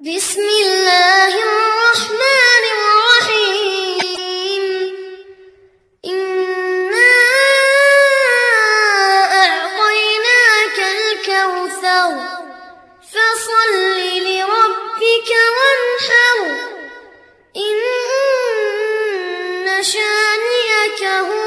بسم الله الرحمن الرحيم. إنا أعطيناك الكوثر فصل لربك وانحر إن شانئك هو